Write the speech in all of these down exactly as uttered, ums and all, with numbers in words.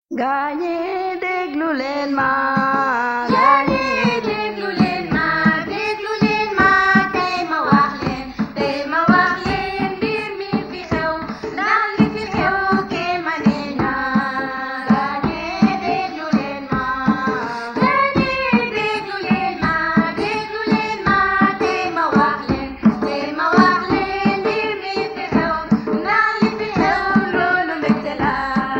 gaañi déglu leen ma gaañi déglu leen ma déglu leen ma tey ma wax leen tey ma wax leen mbir mi fi xew ndax li fi xew kéemane na gaañi déglu leen ma gaañi déglu leen ma déglu leen ma tey ma wax leen tey ma wax leen mbir mi fi xew ndax li fi xew loolu mbégte la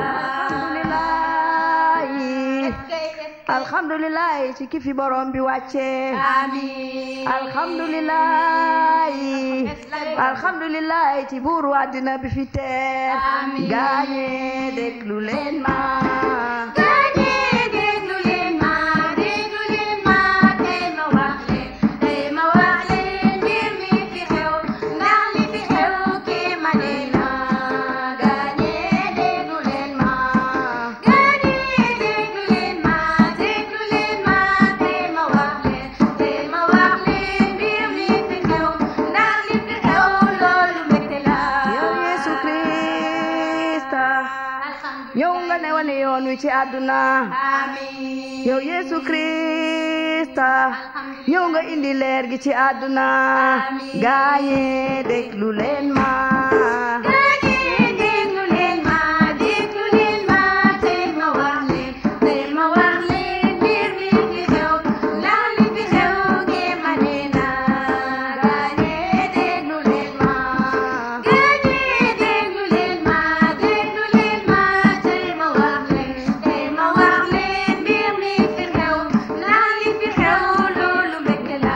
alhamdulillah ci ki fi borom bi wàcce amiin alhamdulillah alhamdulillah ci buuru àddina bi fi teer amiin gaañe déglu leen ma gaañe déglu leen ma déglu leen ma tey ma wax leen tey ma wax leen mbir mi fi xew ndax li fi xew kéemane na gaañe déglu leen ma gaañe déglu leen ma déglu leen ma tey ma wax leen tey ma wax leen mbir mi fi xew ndax li fi xew loolu mbégte la yow Yesu Krista ñëw nga ne wane yoon wi ci àdduna amiin yow Yesu Krista ñëw nga indi leer gi ci àdduna gaañe déglu leen ma gaañi déglu leen ma déglu leen ma tey ma wax leen tey ma wax leen mbir mi fi xew ndax li fi xew kéemane na gaañi déglu leen ma gaañi déglu leen ma déglu leen ma tey ma wax leen tey ma wax leen mbir mi fi xew ndax li fi xew loolu mbégte la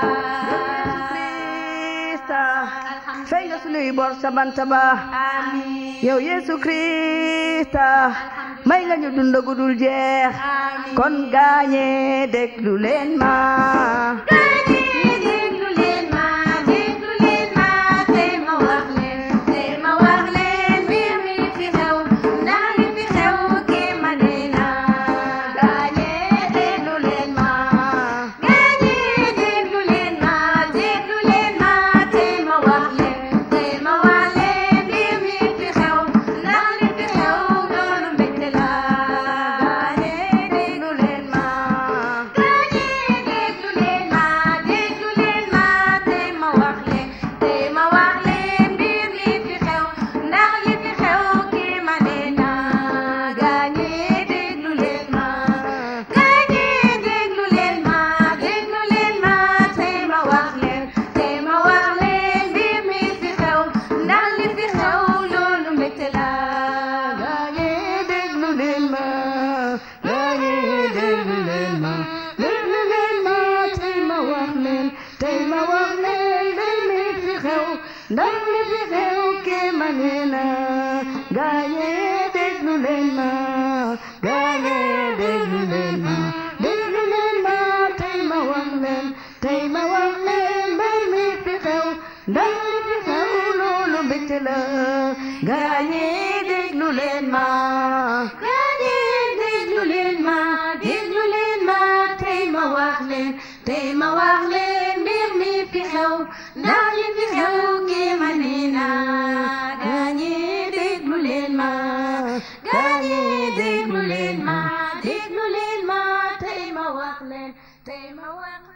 Krista fay nga sunuy bor sa bant ba amiin yow Yesu Krista may nga ñu dund gu dul jeex kon gaañe déglu leen ma gaañi déglu leen ma déglu leen ma tey ma wax leen tey ma wax leen mbir mi fi xew ndax li fi xew kéemane na gaañi déglu leen ma gaañi déglu leen ma déglu leen ma tey ma wax leen tey ma wax leen mbir mi fi xew ndax li fi xew loolu mbégte la gaañi déglu leen ma gaañi déglu leen ma déglu leen ma tey ma wax leen tey ma wax leen mbir mi fi xew ndax li fi xew kéemane na gaañi déglu leen ma gaañi déglu leen ma déglu leen ma tey ma wax leen tey ma wax leen mbir mi fi xew ndax li fi xew loolu mbégte la gaañe déglu leen ma gaañe déglu leen ma déglu leen ma tey ma wax leen tey ma wax leen mbir mi fi xew ndax li fi xew kéemane na gaañe déglu leen ma gaañe déglu leen ma déglu leen ma tey ma wax leen tey ma wax leen mbir mi fi xew ndax li fi xew loolu mbégte la gaañe déglu leen ma gaañi déglu leen ma déglu leen ma tey ma wax leen tey ma wax leen mbir mi fi xew ndax li fi xew kéemane na gaañi déglu leen ma gaañi déglu leen ma déglu leen ma tey ma wax leen tey ma wax leen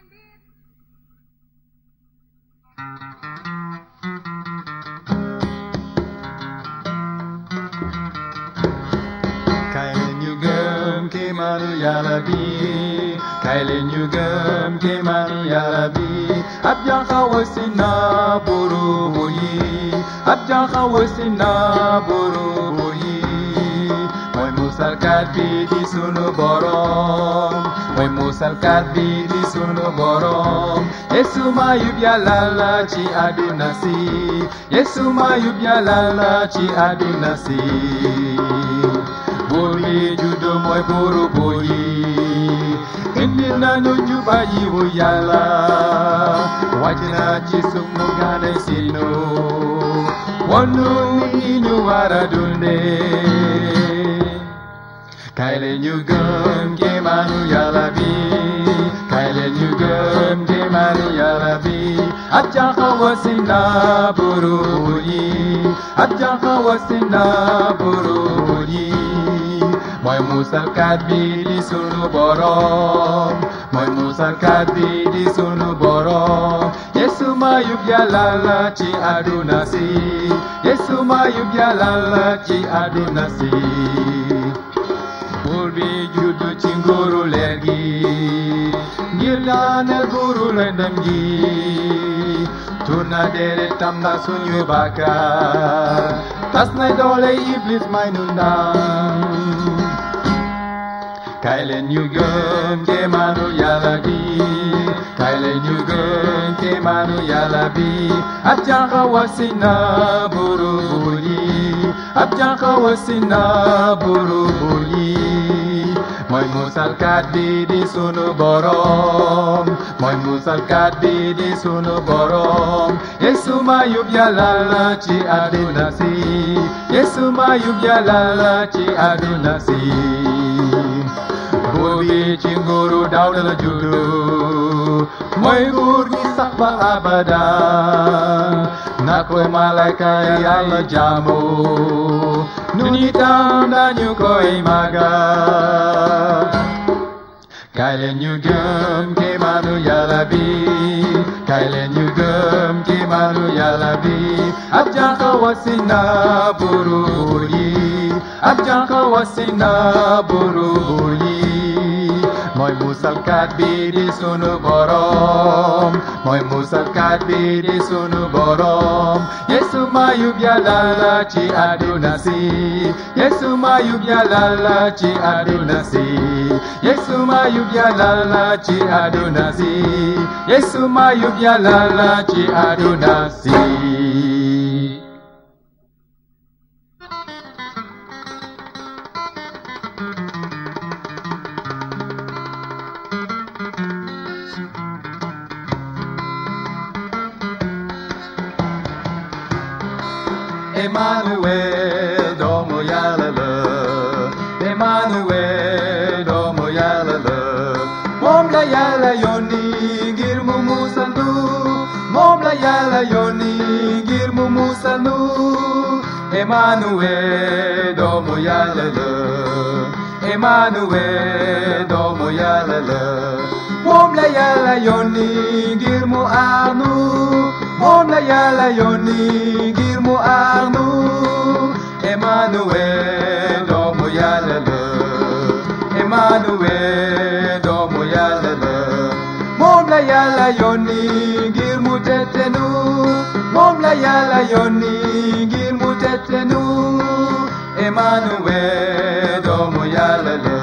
Kaay leen ñu gëm kéemaanu Yàlla bi kaay leen ñu gëm kéemaanu Yàlla bi ab janxa wasi na buuru yi ab janxa wasi na buuru yi mooy musalkat bi di sunu borom mooy musalkat bi di sunu borom Yesu mayub Yàlla la ci àdduna si Yesu mayub Yàlla la ci àdduna si buur yi juddu mooy buuru buur yi indi nañu juba yiwu Yàlla wàcc na ci suuf mu gane sinu wonu ni ñu war a dundee kaay leen ñu gëm kéemaanu Yàlla bi kaay leen ñu gëm kéemaanu Yàlla bi ab janxa wasi na buuru yi ab janxa wasi na buuru yi mooy musalkat bi di sunu borom mooy musalkat bi di sunu borom Yesu mayub Yàlla la ci àdduna si Yesu mayub Yàlla la ci àdduna si buur bi juddu ci nguuru leer gi ngir daaneel nguuru lëndëm gi tuur na deretam na suñu bàkkaar tas na doole Iblis may nu ndam kaay leen ñu gëm kéemaanu Yàlla bi kaay leen ñu gëm kéemaanu Yàlla bi ab jànq wasi na buuru buur yi ab jànq wasi na buuru buur yi mooy musalkat bi di sunu borom mooy musalkat bi di sunu borom Yesu mayub Yàlla la ci àdduna si Yesu mayub Yàlla la ci àdduna si buur bi ci nguuru Daawuda la juddu mooy nguur gi sax ba abada na koy malayka Yàlla jaamu nun itam dañu koy màggal kaay leen ñu gëm kéemaanu Yàlla bi kaay leen ñu gëm kéemaanu Yàlla bi ab jànq wasi na buuru buur yi ab jànq wasi na buuru buur yi mooy musalkat bi di sunu borom mooy musalkat bi di sunu borom Yesu mayub Yàlla la ci àdduna si Yesu mayub Yàlla la ci àdduna si Yesu mayub Yàlla la ci àdduna si Yesu mayub Yàlla la ci àdduna si Emmanuel doomu Yàlla la Emmanuel doomu Yàlla la moom la Yàlla yónni ngir mu musal nu moom la Yàlla yónni ngir mu musal nu Emmanuel doomu Yàlla la Emmanuel doomu Yàlla la moom la Yàlla yónni ngir mu aar nu moom la Yàlla yónni ngir mu aar nu Emmanuel doomu Yàlla la Emmanuel doomu Yàlla la moom la Yàlla yónni ngir mu tette nu moom la Yàlla yónni ngir mu tette nu Emmanuel doomu Yàlla la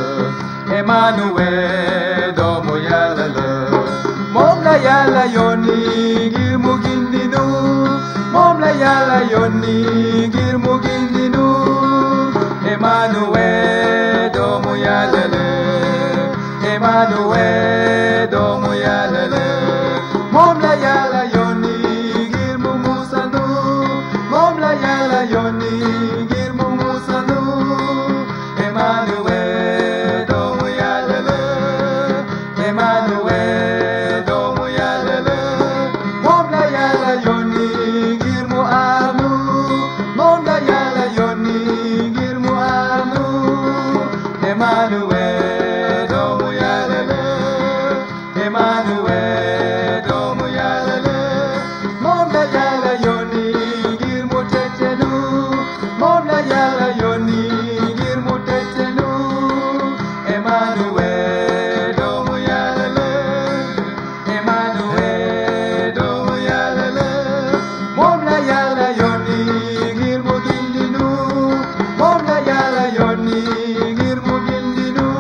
Emmanuel doomu Yàlla la moom la Yàlla yónni ngir mu gindi nu moom la Yàlla yónni ngir mu gindi nu Emmanuel doomu Yàlla la Emmanuel doomu Yàlla la moom la Yàlla yónni ngir mu musal nu moom la Yàlla yónni ngir mu musal nu Emmanuel doomu Yàlla la Emmanuel doomu Yàlla la moom la Yàlla yónni ngir mu aar nu moom la Yàlla yónni ngir mu aar nu Emmanuel doomu Yàlla la Emmanuel doomu Yàlla la moom la Yàlla yónni ngir mu tette nu moom la Yàlla yónni ngir mu tette nu Emmanuel doomu Yàlla la Emmanuel doomu Yàlla la moom la Yàlla yónni ngir mu gindi nu moom la Yàlla yónni ngir mu gindi nu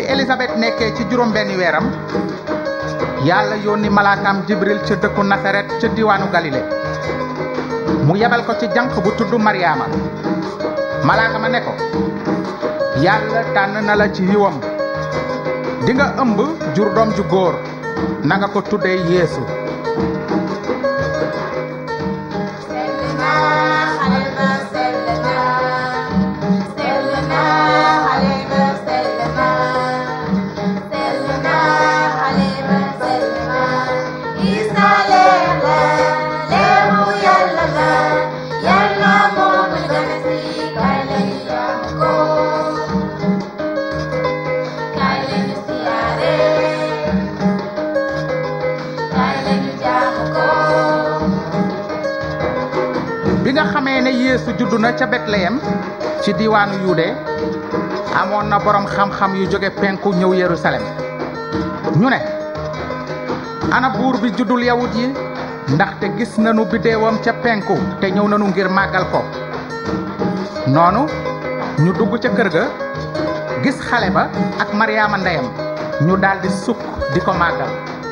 Elisabeth nekkee ci juróom benni weeram yàlla yónni malaakam Jibril ca dëkku Nasaret ca diwaanu Galile mu yebal ko ci jànq bu tudd Mariama malaaka ma ne ko yàlla tànn na la ci yiwam di nga ëmb jur doom ju góor na nga ko tuddee Yeesu bi nga xamee ne Yeesu juddu na ca Betleyem ci diwaanu Yude amoon na borom xam-xam yu jóge penku ñëw Yerusalem ñu ne ana buur bi juddul yawut yi ndaxte gis nañu biddeewam ca penku te ñëw nañu ngir màggal ko noonu ñu dugg ca kër ga gis xale ba ak Mariama ndeyam ñu daldi sukk di ko màggal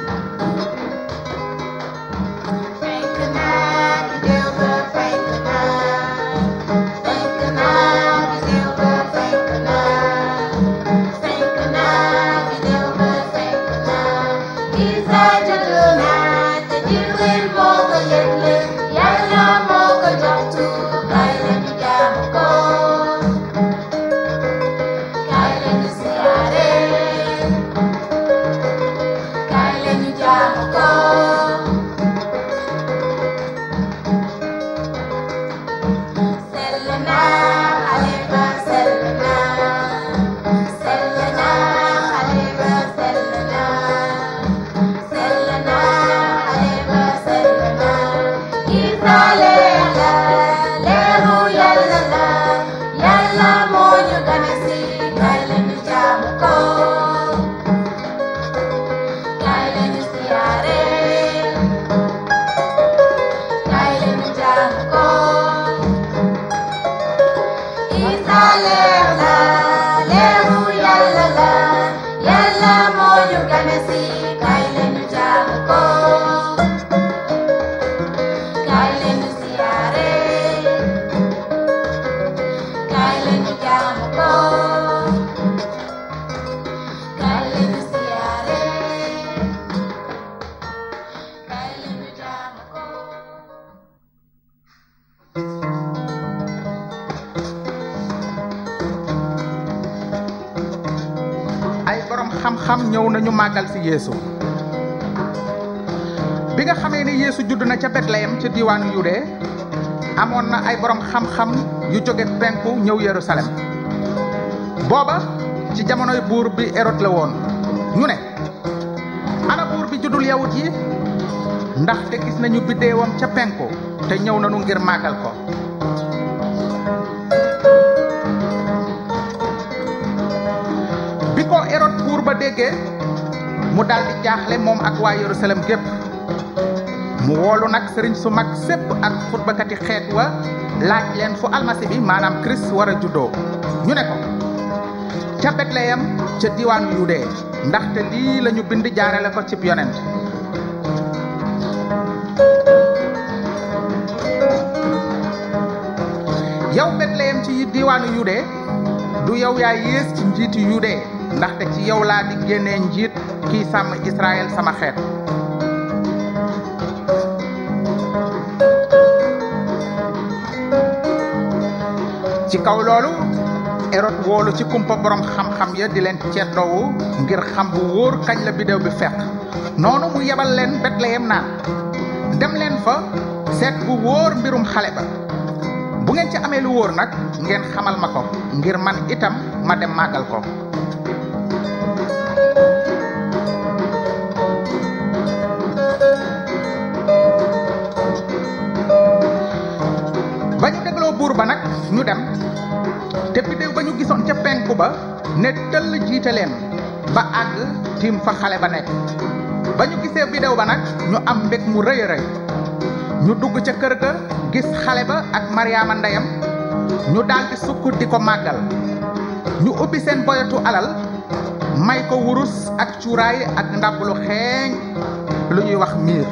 xam-xam ñëw nañu màggal ci Yeesu bi nga xamee ne Yeesu judd na ca Betleyem ca diwaanu Yude amoon na ay borom xam-xam yu jóge penku ñëw Yerusalem booba ci jamonoy buur bi Hérode la woon ñu ne ana buur bi juddul yawut yi ndaxte gis nañu biddeewam ca penku te ñëw nañu ngir màggal ko bi ko Hérode buur ba déggee mu daldi jaaxle moom ak waa Yerusalem gépp mu woolu nag sëriñ su mag sépp ak xutbakati xeet wa laaj leen fu almasi bi maanaam Christ war a juddoo ñu ne ko ca Betleyem ca diwaanu Yude ndaxte lii lañu bind jaarale ko cib yonent yow Betleyem ci diwaanu Yude du yow yaa yées ci njiiti Yude ndaxte ci yow laa di génnee njiit kiy sàmm Israël sama xeet ci kaw loolu Hérode woolu ci kumpa borom xam-xam ya di leen ceddoowu ngir xam bu wóor kañ la biddew bi fekk noonu mu yebal leen Betleyem naan dem leen fa seet bu wóor mbirum xale ba bu ngeen ci amee lu wóor nag ngeen xamal ma ko ngir man itam ma dem màggal ko ba ñu dégloo buur ba nag ñu dem te biddew ba ñu gisoon ca penku ba ne tëll jiite leen ba àgg tiim fa xale ba nekk ba ñu gisee biddew ba nag ñu am mbég mu rëy a rëy ñu dugg ca kër ga gis xale ba ak Mariama ndeyam ñu daldi sukk di ko màggal ñu ubbi seen boyatu alal may ko wurus ak cuuraay ak ndab lu xeeñ lu ñuy wax miir.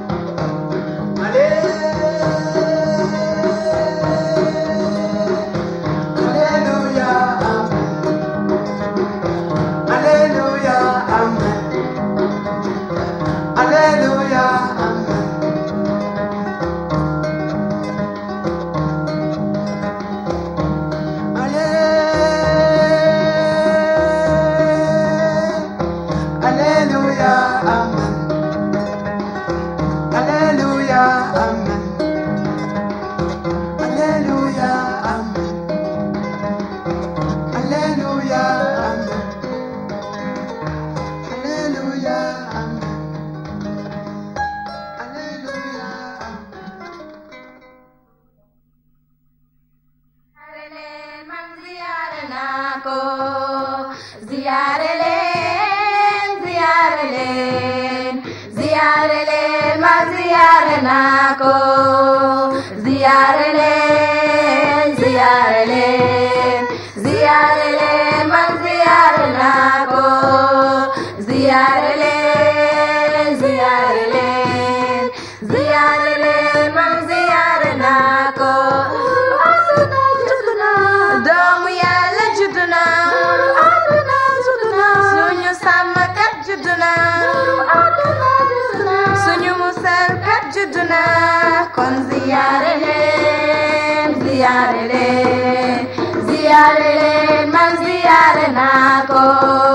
Kon ziyaare leen ziyaare leen ziyaare leen man ziyaare naa ko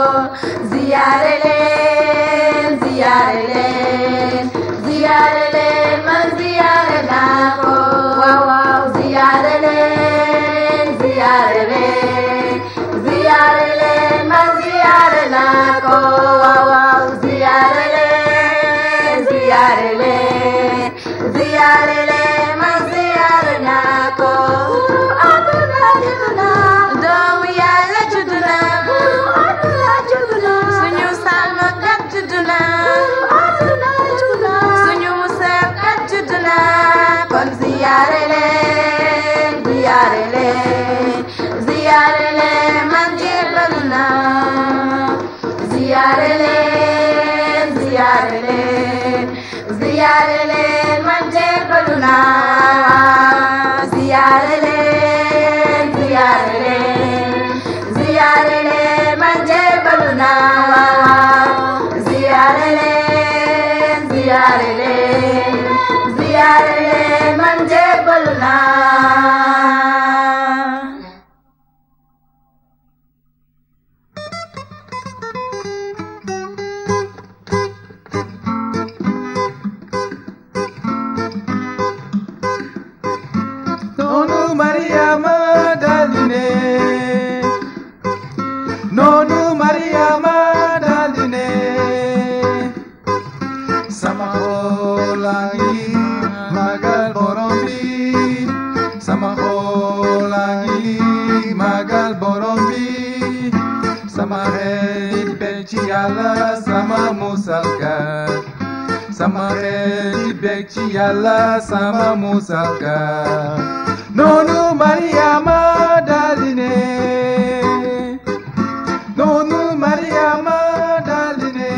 ziyaare leen ziyaare leen ziyaare leen man ziyaare naa ko waaw waaw ziyaare leen ziyaare leen ziyaare leen man ziyaare naa ko waaw waaw ziyaare leen ziyaare leen ziyaare leen man ziyaare naa ko aduna juduna doomu Yàlla juduna aduna juduna suñu sàmmkat juduna aduna juduna suñu musaalkat juduna kon ziyaare leen ziyaare leen ziyaare leen man jébbalu naa ziyaare leen ziyaare leen ziyaare leen man jébbalu naa ziyaare leen ziyaare leen ziyaare leen man jébbalu naa ziyaare leen ziyaare leen ziyaare leen man jébbalu naa sama musalkat sama xel bég ci Yàlla sama musalkat noonu Mariama daldi ne noonu Mariama daldi ne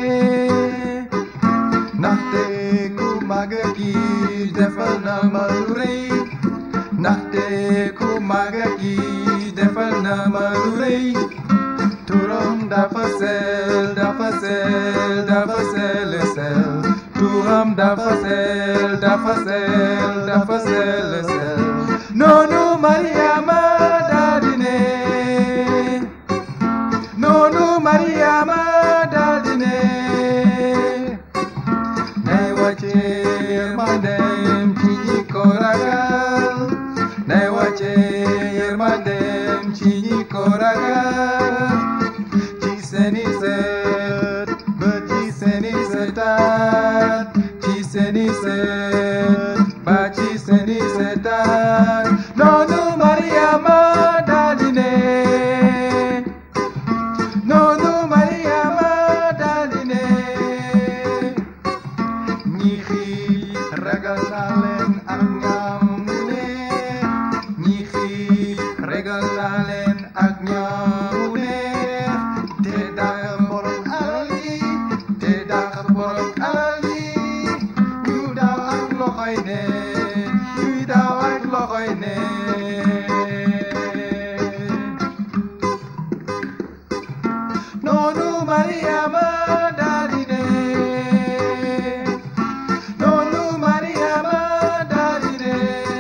ndaxte ku màgg ki defal na ma lu rëy ndaxte ku màgg ki defal na ma lu rëy turam dafa sell dafa sell dafa sell sell turam dafa sell dafa sell dafa sell sell noonu Mariama daldi ne noonu Mariama daldi ne nay wàcce yërmandem ci ñi ko ragal nay wàcce yërmandem ci ñi ko ragal seni set ba ci seni setat ci seni set ba ci seni setat noonu Mariama daldi ne noonu Mariama daldi ne ñi xiif ragal naa leen ak ñam ne ñi xiif ragal naa leen ak ñam ne te Mariama dadine Nonu Mariama dadine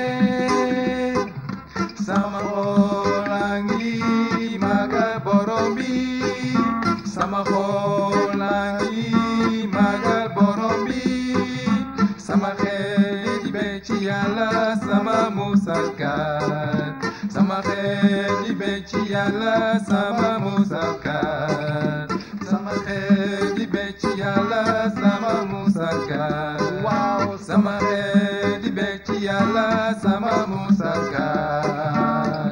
Sama holangi maga borombi Sama holangi maga borombi Sama khedi beci yalla sama musalkat Sama khedi beci yalla sama musalkat Sama khedi beci yalla sama musalkat Wow sama khedi beci yalla sama musalkat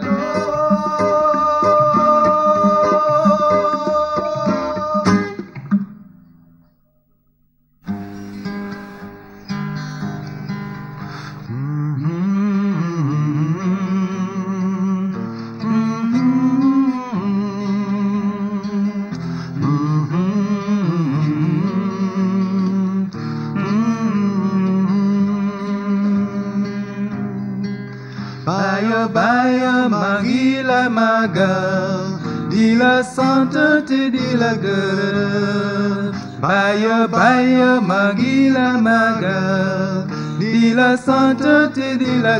Baya baya magila magal di la sainteté di la gueule Baya baya magila magal di la sainteté di la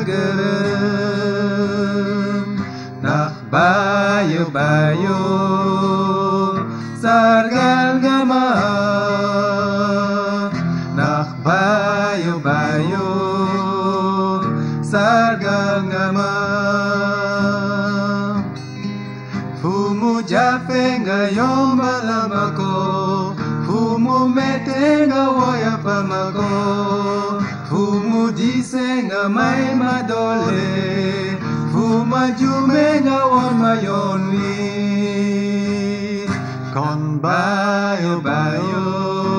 gueule Nah bayo bayo sargal gama Nah bayo bayo sargal gama Fumu jafe nga yomba lamako Fumu mete nga woya pamako Fumu dise nga may madole Fuma jume nga won mayonwi Kon bayo bayo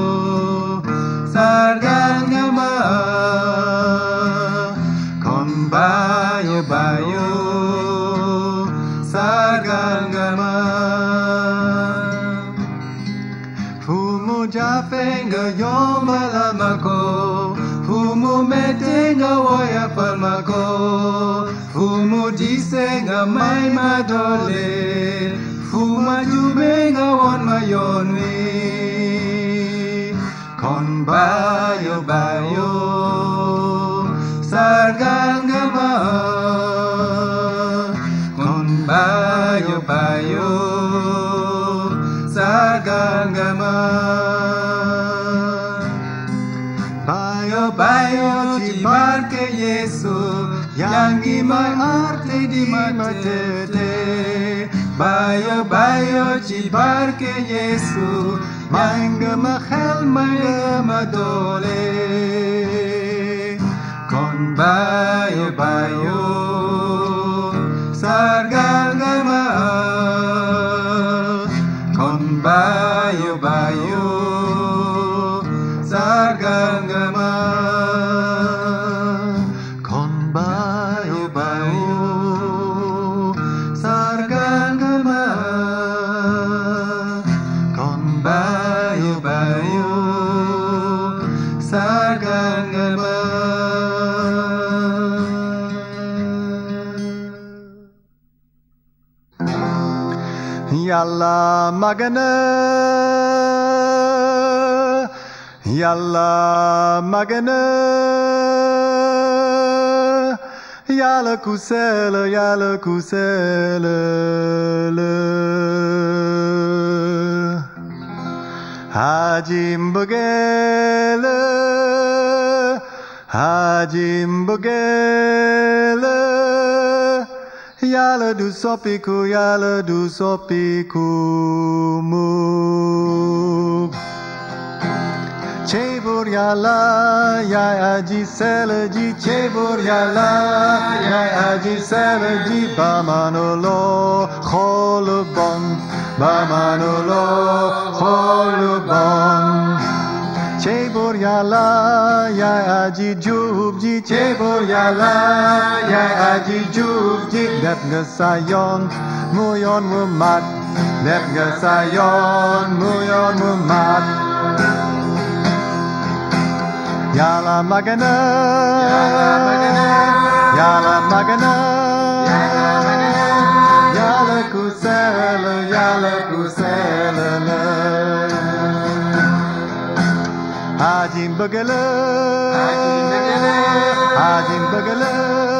sargal gama Kon bayo bayo sargal gama Fumu jafe nga yomba lamako Fumu mete nga woya palmako Fumu dise nga may madole Fuma jube nga won mayonwi Kon bayo bayo sargal gama Kon bayo bayo sargal gama Bayo bayo ci barke Yesu Yang may arte di matete Bayo bayo ci barke Yesu Manga mahal manga madole Kon bayo bayo sargal gama Kon bayo bayo sargal gama Kon bayo bayo sargal gama Kon bayo bayo sargal gama Yalla magana Yalla magana Yalla kusela Yalla kusela Hajim bugela Hajim bugela Yalla du sopiku Yalla du sopiku mu Cebur yalla ya aji selaji cebur yalla ya aji selaji ba manolo kholbon ba manolo kholbon Cebur yalla ya aji jubji cebur yalla ya aji jubji dep ngasayon muyon mumat dep ngasayon muyon mumat Yalla magana Yalla magana Yalla magana Yalla kusela Yalla kusela bagala, Hajim bagala,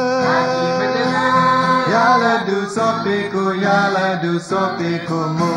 Yala du sopiku, yala du sopiku mo.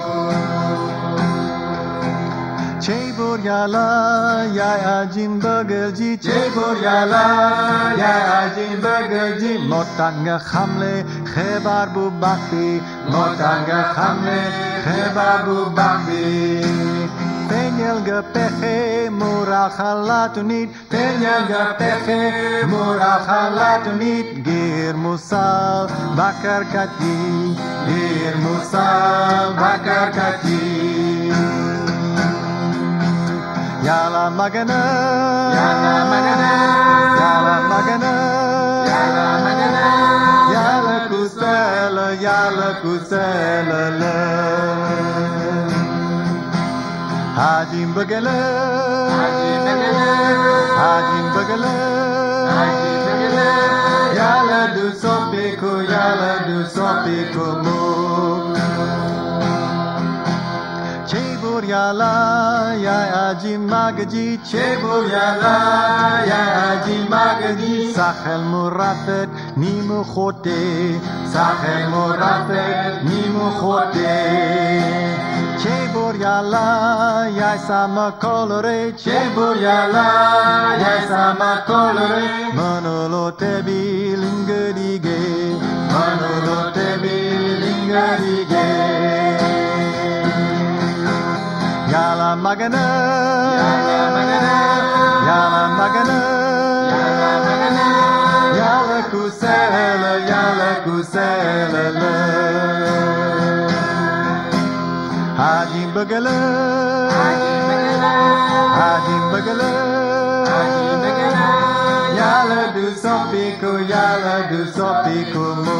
Chebur yala, ya Hajim bagalji, Chebur yala, ya Hajim bagalji. Motanga khamle, khebar bu bakti, Motanga khamle, khebar bu bakti. Penyel gepeche murah khalatunit, Penyel gepeche murah khalatunit. Gir musal bakar kati, Gir musal bakar kati. Yala magana, Yala magana, Yala magana, Yala magana, Yala kusela, Yala kusela la. Hajim bagala, Hajim bagala, Hajim bagala, Hajim bagala. Yala du sopiku, Yala du sopiku mo. Chebur yala, ya Hajim magaji, Chebur yala, ya Hajim magaji. Sahel murafet, ni mu khote, Sahel murafet, ni mu khote. Chebur yala, ya sama colore, Chebur yala, ya sama colore. Manolo tebi lingadige, Manolo tebi lingadige. Yala magana, Yala magana, Yala magana, Yala magana. Yala kusela, Yala kusela la. Hajim bagala, Hajim bagala, Hajim bagala, Hajim bagala. Yala du sopiku, Yala du sopiku mo.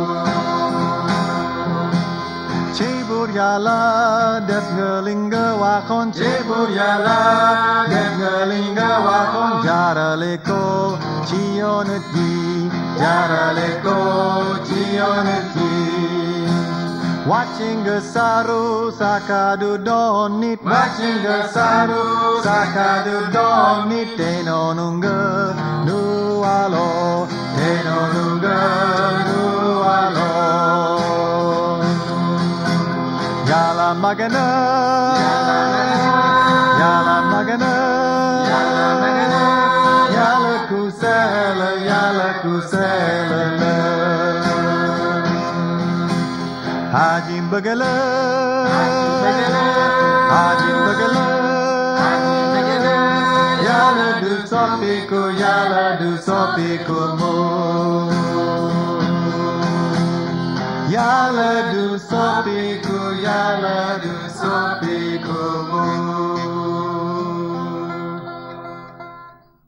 Chebur yala, det ngelinga wakon, Chebur yala, det ngelinga wakon. Jara leko, chioneti, Jara leko, chioneti. Watching a saru sakadu donit, Watching a saru sakadu donit. Tenonunga nualo, Tenonunga nualo. Yala magana, Yala magana, Yala magana, Yala kusela, Yala kusela la. Hajim bagala, Hajim bagala, Yala du sopiku, Yala du sopiku mo. Yala du sopiku, Yala du sopiku.